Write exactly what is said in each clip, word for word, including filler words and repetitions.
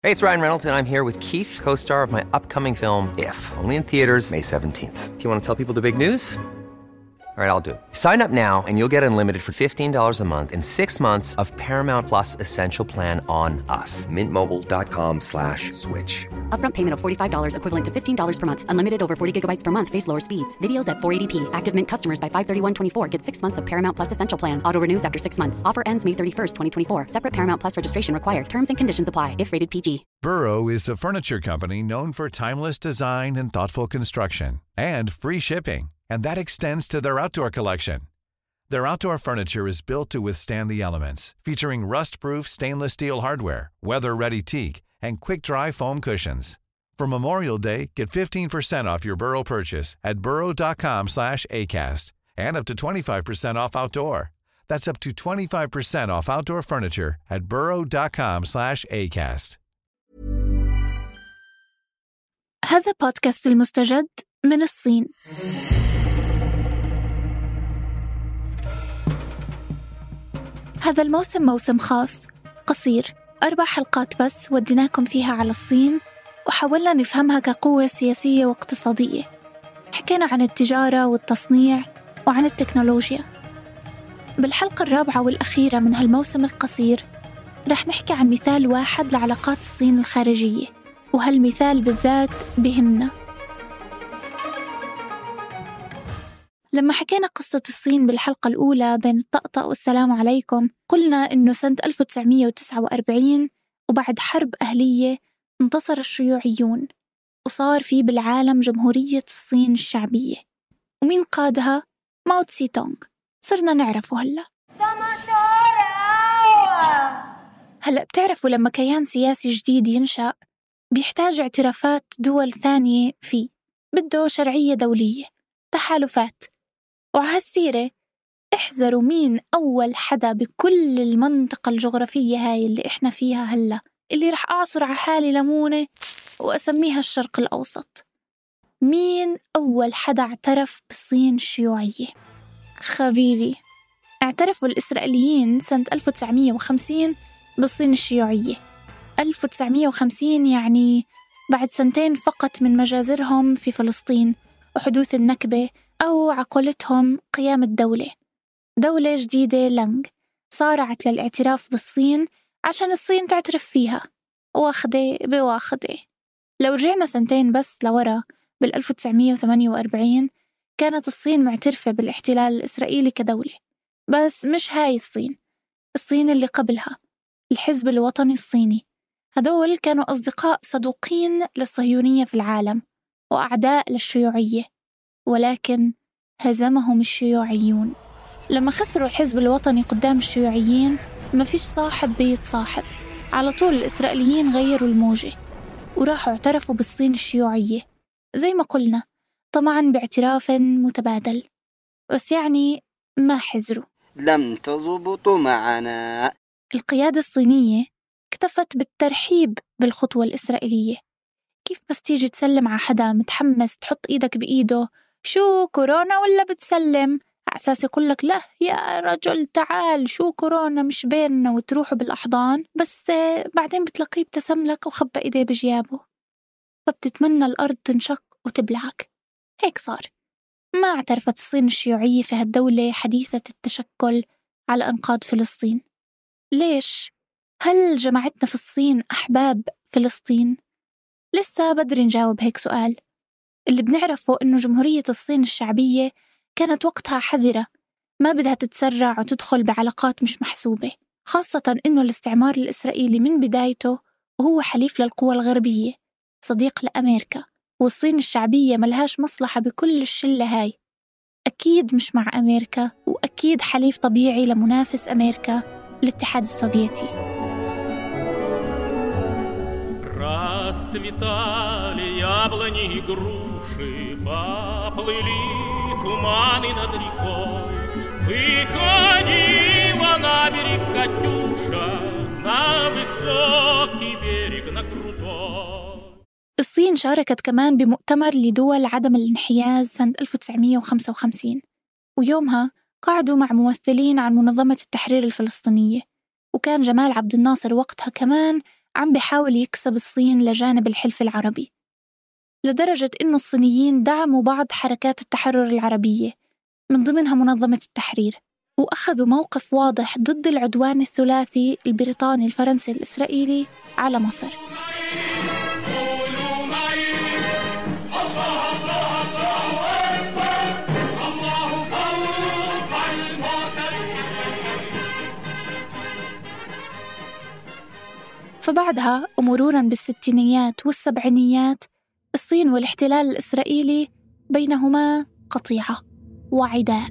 Hey, it's Ryan Reynolds, and I'm here with Keith, co-star of my upcoming film, If, only in theaters May seventeenth. Do you want to tell people the big news? All right, I'll do it. Sign up now and you'll get unlimited for fifteen dollars a month and six months of Paramount Plus Essential Plan on us. Mint Mobile dot com slash switch. Upfront payment of forty-five dollars equivalent to fifteen dollars per month. Unlimited over forty gigabytes per month. Face lower speeds. Videos at four eighty p. Active Mint customers by five thirty-one twenty-four get six months of Paramount Plus Essential Plan. Auto renews after six months. Offer ends May thirty-first, twenty twenty-four. Separate Paramount Plus registration required. Terms and conditions apply if rated P G. Burrow is a furniture company known for timeless design and thoughtful construction and free shipping. And that extends to their outdoor collection. Their outdoor furniture is built to withstand the elements, featuring rust-proof stainless steel hardware, weather-ready teak, and quick-dry foam cushions. For Memorial Day, get fifteen percent off your Burrow purchase at burrow dot com slash acast and up to twenty-five percent off outdoor. That's up to twenty-five percent off outdoor furniture at burrow dot com slash acast. هذا بودكاست المستجد من الصين. هذا الموسم موسم خاص قصير، أربع حلقات بس وديناكم فيها على الصين وحاولنا نفهمها كقوة سياسية واقتصادية. حكينا عن التجارة والتصنيع وعن التكنولوجيا. بالحلقة الرابعة والأخيرة من هالموسم القصير رح نحكي عن مثال واحد لعلاقات الصين الخارجية، وهالمثال بالذات بهمنا. لما حكينا قصة الصين بالحلقة الأولى بين الطقطقة والسلام عليكم، قلنا إنه سنة ألف وتسعمية وتسعة وأربعين وبعد حرب أهلية انتصر الشيوعيون وصار في بالعالم جمهورية الصين الشعبية. ومين قادها؟ ماو تسي تونغ. صرنا نعرفه هلأ. هلأ بتعرفوا لما كيان سياسي جديد ينشأ بيحتاج اعترافات دول ثانية فيه، بده شرعية دولية، تحالفات. وعهالسيرة احذروا مين أول حدا بكل المنطقة الجغرافية هاي اللي إحنا فيها هلأ، اللي رح أعصر على حالي ليمونة وأسميها الشرق الأوسط. مين أول حدا اعترف بالصين الشيوعية؟ خبيبي، اعترفوا الإسرائيليين سنة ألف وتسعمية وخمسين بالصين الشيوعية. ألف وتسعمية وخمسين يعني بعد سنتين فقط من مجازرهم في فلسطين وحدوث النكبة، أو عقولتهم قيام الدولة. دولة جديدة لانغ صارعت للاعتراف بالصين عشان الصين تعترف فيها، واخدة بواخدة. لو رجعنا سنتين بس لورا بالألف وتسعمية وثمانية وأربعين كانت الصين معترفة بالاحتلال الإسرائيلي كدولة، بس مش هاي الصين. الصين اللي قبلها، الحزب الوطني الصيني، هدول كانوا أصدقاء صدوقين للصهيونية في العالم وأعداء للشيوعية، ولكن هزمهم الشيوعيون. لما خسروا الحزب الوطني قدام الشيوعيين ما فيش صاحب بيتصاحب، على طول الإسرائيليين غيروا الموجة وراحوا اعترفوا بالصين الشيوعية زي ما قلنا، طبعا باعتراف متبادل، بس يعني ما حزروا. لم تضبطوا معنا. القيادة الصينية اكتفت بالترحيب بالخطوة الإسرائيلية. كيف بس تيجي تسلم على حدا متحمس تحط إيدك بإيده، شو كورونا ولا بتسلم؟ على أساس يقولك لا يا رجل تعال شو كورونا مش بيننا، وتروحوا بالأحضان، بس بعدين بتلاقيه ابتسم لك وخبى إيديه بجيابه، فبتتمنى الأرض تنشق وتبلعك. هيك صار. ما اعترفت الصين الشيوعية في هالدولة حديثة التشكل على أنقاض فلسطين. ليش؟ هل جماعتنا في الصين أحباب فلسطين؟ لسه بدري نجاوب هيك سؤال. اللي بنعرفه إنه جمهورية الصين الشعبية كانت وقتها حذرة، ما بدها تتسرع وتدخل بعلاقات مش محسوبة، خاصة إنه الاستعمار الإسرائيلي من بدايته وهو حليف للقوى الغربية، صديق لأمريكا، والصين الشعبية ملهاش مصلحة بكل الشلة هاي. أكيد مش مع أمريكا، وأكيد حليف طبيعي لمنافس أمريكا، الاتحاد السوفيتي. Расцветали яблони и груши, поплыли туманы над рекой. Выходила на берег Катюша, на высокий берег, на крутой. الصين شاركت كمان بمؤتمر لدول عدم الانحياز سنة ألف وتسعمية وخمسة وخمسين، ويومها قعدوا مع ممثلين عن منظمة التحرير الفلسطينية، وكان جمال عبد الناصر وقتها كمان عم بيحاول يكسب الصين لجانب الحلف العربي، لدرجة إنه الصينيين دعموا بعض حركات التحرر العربية من ضمنها منظمة التحرير، وأخذوا موقف واضح ضد العدوان الثلاثي البريطاني الفرنسي الإسرائيلي على مصر. فبعدها ومروراً بالستينيات والسبعينيات، الصين والاحتلال الإسرائيلي بينهما قطيعة وعداء.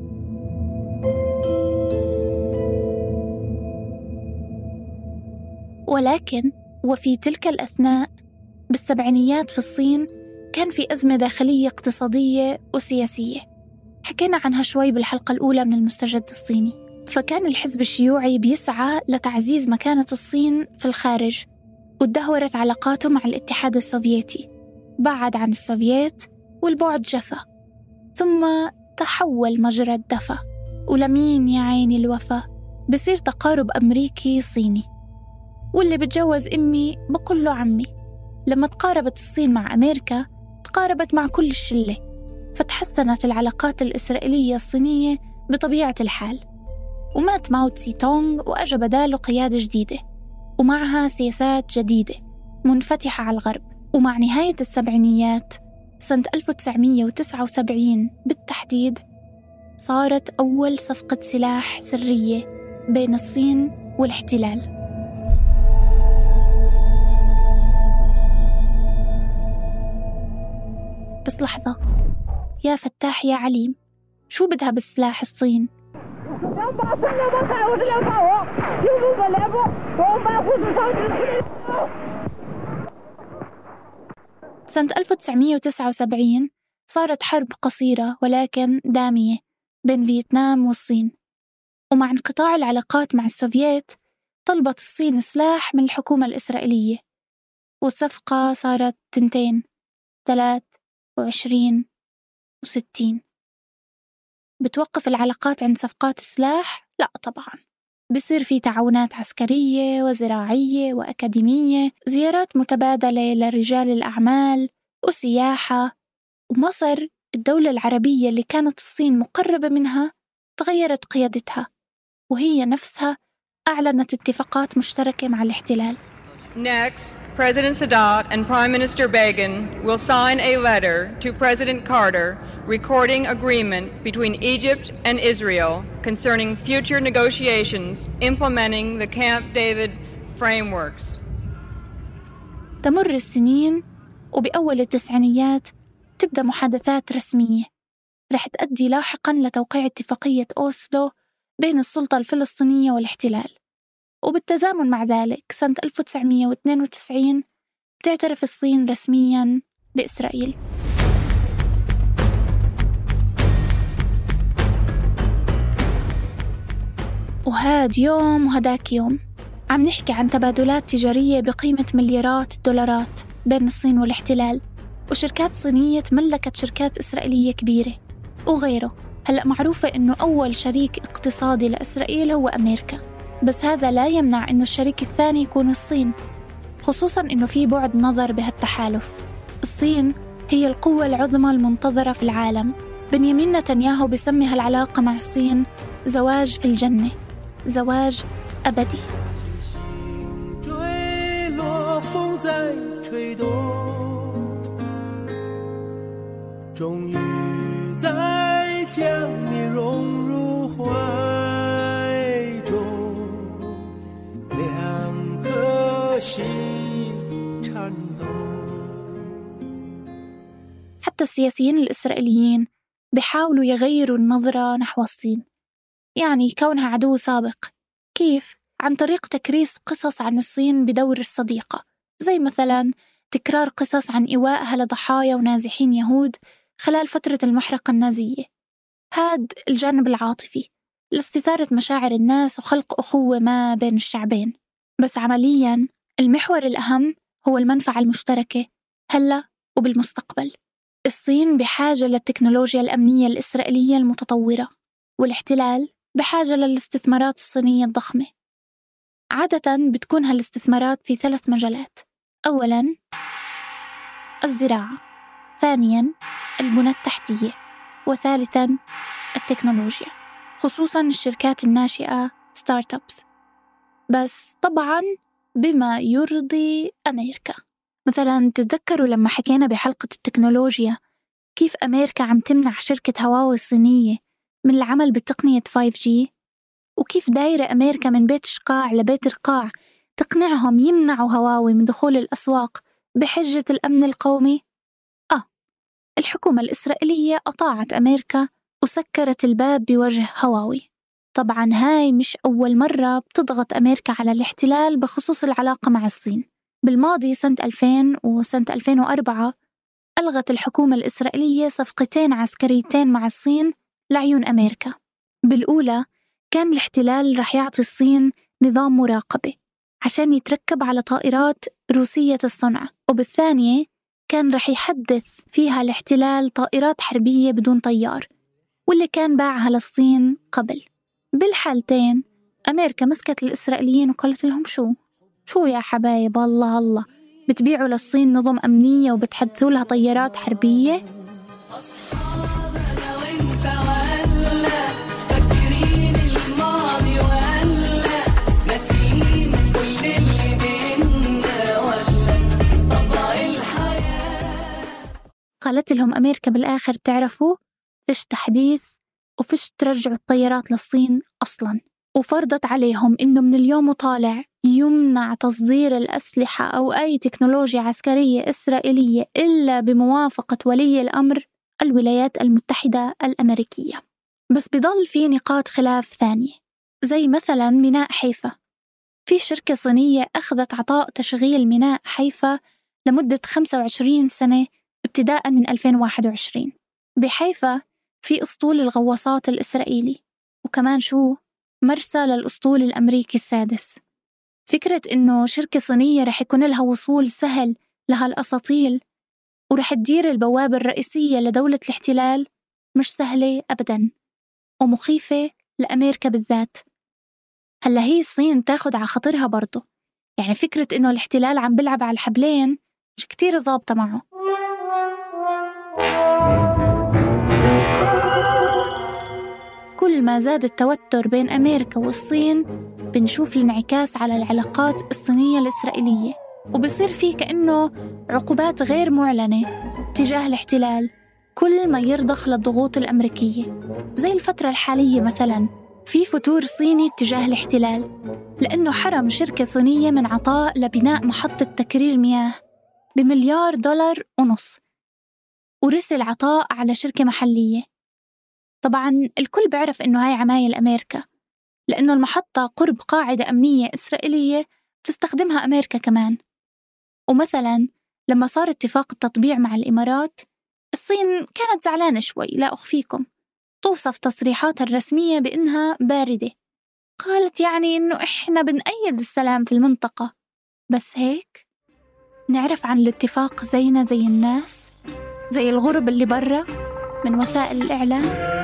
ولكن وفي تلك الأثناء بالسبعينيات في الصين كان في أزمة داخلية اقتصادية وسياسية، حكينا عنها شوي بالحلقة الأولى من المستجد الصيني. فكان الحزب الشيوعي بيسعى لتعزيز مكانة الصين في الخارج، وتدهورت علاقاته مع الاتحاد السوفيتي، بعد عن السوفييت والبعد جفا، ثم تحول مجرى الدفا، ولمين يا عيني الوفا بصير تقارب أمريكي صيني، واللي بتجوز أمي بقول له عمي. لما تقاربت الصين مع أمريكا تقاربت مع كل الشلة، فتحسنت العلاقات الإسرائيلية الصينية بطبيعة الحال، ومات ماو تسي تونغ وأجى بداله قيادة جديدة ومعها سياسات جديدة منفتحة على الغرب. ومع نهاية السبعينيات سنة ألف وتسعمية وتسعة وسبعين بالتحديد صارت أول صفقة سلاح سرية بين الصين والاحتلال. بس لحظة يا فتاح يا عليم، شو بدها بالسلاح الصين؟ سنة ألف وتسعمية وتسعة وسبعين صارت حرب قصيرة ولكن دامية بين فيتنام والصين، ومع انقطاع العلاقات مع السوفييت طلبت الصين سلاح من الحكومة الإسرائيلية، والصفقة صارت تنتين ثلاث وعشرين وستين. بتوقف العلاقات عند صفقات السلاح؟ لا طبعاً، بصير في تعاونات عسكرية وزراعية وأكاديمية، زيارات متبادلة لرجال الأعمال وسياحة. ومصر الدولة العربية اللي كانت الصين مقربة منها تغيرت قيادتها، وهي نفسها أعلنت اتفاقات مشتركة مع الاحتلال. Next, President Sadat and Prime Minister Begin will sign a letter to President Carter recording agreement between Egypt and Israel concerning future negotiations implementing the Camp David frameworks. تمر السنين وبأول التسعينيات تبدأ محادثات رسمية رح تؤدي لاحقاً لتوقيع اتفاقية أوسلو بين السلطة الفلسطينية والاحتلال. وبالتزامن مع ذلك سنة ألف وتسعمية واثنين وتسعين تعترف الصين رسمياً بإسرائيل. وهاد يوم وهداك يوم عم نحكي عن تبادلات تجارية بقيمة مليارات الدولارات بين الصين والاحتلال، وشركات صينية تملكت شركات إسرائيلية كبيرة وغيره. هلأ معروفة إنه أول شريك اقتصادي لإسرائيل هو أمريكا، بس هذا لا يمنع إنه الشريك الثاني يكون الصين، خصوصاً إنه في بعد نظر بهالتحالف. الصين هي القوة العظمى المنتظرة في العالم. بنيامين نتنياهو بيسمي هالعلاقة مع الصين زواج في الجنة، زواج أبدي. حتى السياسيين الإسرائيليين بيحاولوا يغيروا النظرة نحو الصين، يعني كونها عدو سابق. كيف؟ عن طريق تكريس قصص عن الصين بدور الصديقة، زي مثلاً تكرار قصص عن إيوائها لضحايا ونازحين يهود خلال فترة المحرقة النازية. هاد الجانب العاطفي لاستثارة مشاعر الناس وخلق أخوة ما بين الشعبين. بس عملياً المحور الأهم هو المنفعة المشتركة هلأ وبالمستقبل. الصين بحاجة للتكنولوجيا الأمنية الإسرائيلية المتطورة، والاحتلال بحاجة للاستثمارات الصينية الضخمة. عادة بتكون هالاستثمارات في ثلاث مجالات. أولاً الزراعة، ثانياً البنى التحتية، وثالثاً التكنولوجيا، خصوصاً الشركات الناشئة ستارت أبس، بس طبعاً بما يرضي أمريكا. مثلاً تتذكروا لما حكينا بحلقة التكنولوجيا كيف أمريكا عم تمنع شركة هواوي الصينية من العمل بتقنية فايف جي، وكيف دايرة أمريكا من بيت شقاع لبيت رقاع تقنعهم يمنعوا هواوي من دخول الأسواق بحجة الأمن القومي. آه الحكومة الإسرائيلية أطاعت أمريكا وسكرت الباب بوجه هواوي. طبعاً هاي مش أول مرة بتضغط أمريكا على الاحتلال بخصوص العلاقة مع الصين. بالماضي سنة ألفين وسنة ألفين وأربعة ألغت الحكومة الإسرائيلية صفقتين عسكريتين مع الصين لعيون أمريكا. بالأولى كان الاحتلال رح يعطي الصين نظام مراقبة عشان يتركب على طائرات روسية الصنع، وبالثانية كان رح يحدث فيها الاحتلال طائرات حربية بدون طيار واللي كان باعها للصين قبل. بالحالتين أمريكا مسكت الإسرائيليين وقالت لهم شو شو يا حبايب الله الله بتبيعوا للصين نظم أمنية وبتحدثوا لها طيارات حربية؟ قالت لهم أمريكا بالآخر تعرفوا فيش تحديث وفيش ترجعوا الطيارات للصين أصلاً، وفرضت عليهم إنه من اليوم وطالع يمنع تصدير الأسلحة أو أي تكنولوجيا عسكرية إسرائيلية إلا بموافقة ولي الأمر الولايات المتحدة الأمريكية. بس بضل في نقاط خلاف ثانية، زي مثلاً ميناء حيفا. في شركة صينية أخذت عطاء تشغيل ميناء حيفا لمدة خمسة وعشرين سنة ابتداءً من ألفين وواحد وعشرين. بحيفا في أسطول الغواصات الإسرائيلي، وكمان شو مرسى للأسطول الأمريكي السادس. فكرة إنه شركة صينية رح يكون لها وصول سهل لهالأساطيل ورح تدير البوابة الرئيسية لدولة الاحتلال مش سهلة أبداً ومخيفة لأمريكا بالذات. هلا هي الصين تاخد على خاطرها برضو، يعني فكرة إنه الاحتلال عم بلعب على الحبلين مش كتير ظابطة معه. كل ما زاد التوتر بين أمريكا والصين بنشوف الانعكاس على العلاقات الصينية الإسرائيلية، وبصير فيه كأنه عقوبات غير معلنة تجاه الاحتلال كل ما يرضخ للضغوط الأمريكية. زي الفترة الحالية مثلاً في فتور صيني تجاه الاحتلال لأنه حرم شركة صينية من عطاء لبناء محطة تكرير مياه بمليار دولار ونص، ورسل عطاء على شركة محلية. طبعاً الكل بيعرف إنه هاي عمايل أمريكا لأنه المحطة قرب قاعدة أمنية إسرائيلية بتستخدمها أمريكا كمان. ومثلاً لما صار اتفاق التطبيع مع الإمارات الصين كانت زعلانة شوي، لا أخفيكم، توصف تصريحاتها الرسمية بإنها باردة. قالت يعني إنه إحنا بنأيد السلام في المنطقة، بس هيك نعرف عن الاتفاق زينا زي الناس، زي الغرب اللي برا من وسائل الإعلام.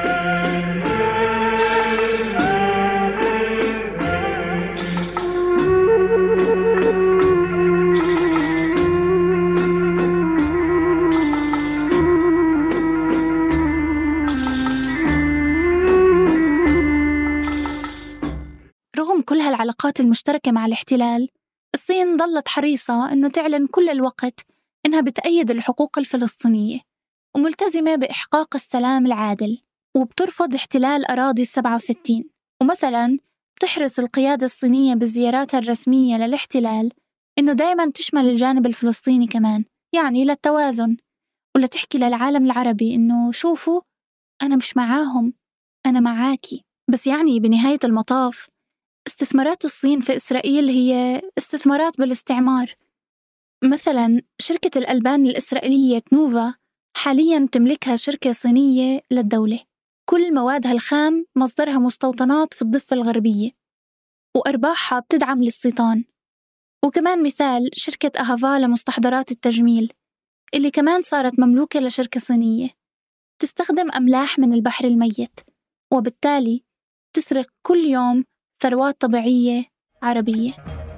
رغم كل هالعلاقات المشتركة مع الاحتلال، الصين ظلت حريصة إنه تعلن كل الوقت إنها بتأيد الحقوق الفلسطينية وملتزمة بإحقاق السلام العادل، وبترفض احتلال أراضي السبعة وستين. ومثلاً بتحرص القيادة الصينية بزياراتها الرسمية للاحتلال إنه دايماً تشمل الجانب الفلسطيني كمان، يعني للتوازن، ولا تحكي للعالم العربي إنه شوفوا أنا مش معاهم، أنا معاكي. بس يعني بنهاية المطاف استثمارات الصين في إسرائيل هي استثمارات بالاستعمار. مثلاً شركة الألبان الإسرائيلية تنوفا حالياً تملكها شركة صينية للدولة، كل موادها الخام مصدرها مستوطنات في الضفة الغربية وأرباحها بتدعم للصيطان. وكمان مثال شركة أهافا لمستحضرات التجميل اللي كمان صارت مملوكة لشركة صينية تستخدم أملاح من البحر الميت، وبالتالي تسرق كل يوم ثروات طبيعية عربية.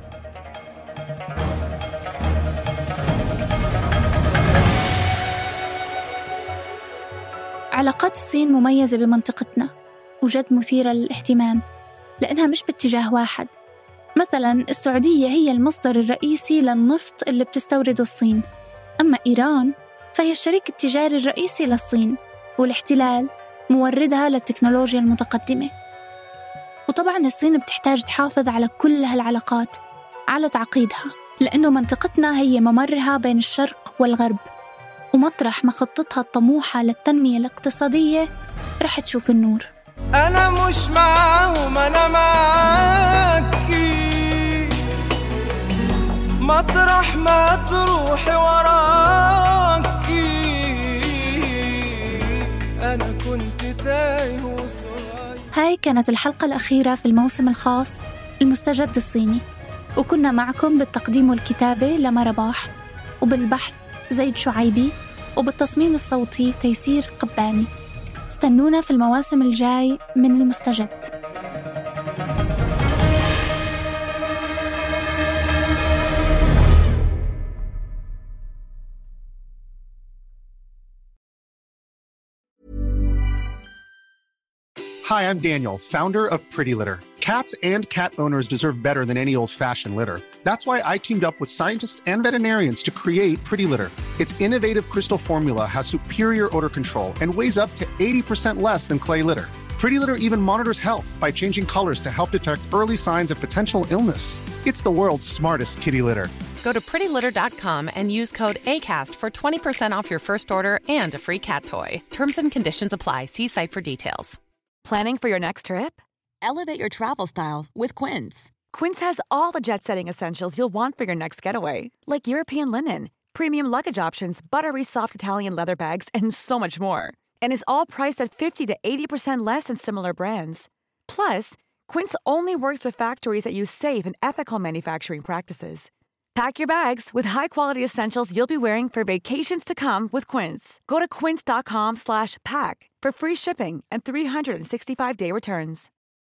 علاقات الصين مميزة بمنطقتنا وجد مثيرة للاهتمام لأنها مش باتجاه واحد. مثلاً السعودية هي المصدر الرئيسي للنفط اللي بتستورده الصين، أما إيران فهي الشريك التجاري الرئيسي للصين، والاحتلال موردها للتكنولوجيا المتقدمة. وطبعاً الصين بتحتاج تحافظ على كل هالعلاقات على تعقيدها، لأنه منطقتنا هي ممرها بين الشرق والغرب، ومطرح ما خطتها الطموحة للتنمية الاقتصادية رح تشوف النور. أنا مش معاهم، أنا معاكي، مطرح ما تروحي وراكي، أنا كنت تايه وصاير. هاي كانت الحلقة الأخيرة في الموسم الخاص المستجد الصيني، وكنا معكم بالتقديم والكتابة لما رباح، وبالبحث زيد شعيبي، وبالتصميم الصوتي تيسير قباني. استنونا في المواسم الجاي من المستجد. Hi, I'm Daniel, founder of Pretty Litter. Cats and cat owners deserve better than any old-fashioned litter. That's why I teamed up with scientists and veterinarians to create Pretty Litter. Its innovative crystal formula has superior odor control and weighs up to eighty percent less than clay litter. Pretty Litter even monitors health by changing colors to help detect early signs of potential illness. It's the world's smartest kitty litter. Go to pretty litter dot com and use code ACAST for twenty percent off your first order and a free cat toy. Terms and conditions apply. See site for details. Planning for your next trip? Elevate your travel style with Quince. Quince has all the jet-setting essentials you'll want for your next getaway, like European linen, premium luggage options, buttery soft Italian leather bags, and so much more. And is all priced at fifty to eighty percent less than similar brands. Plus, Quince only works with factories that use safe and ethical manufacturing practices. Pack your bags with high-quality essentials you'll be wearing for vacations to come with Quince. Go to quince dot com slash pack for free shipping and three hundred sixty-five day returns.